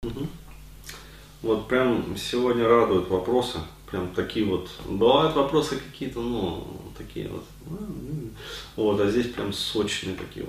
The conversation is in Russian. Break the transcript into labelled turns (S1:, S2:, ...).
S1: Мгм. Вот прям сегодня радуют вопросы. Прям такие вот. Бывают вопросы какие-то, ну, такие вот. Вот, а здесь прям сочные такие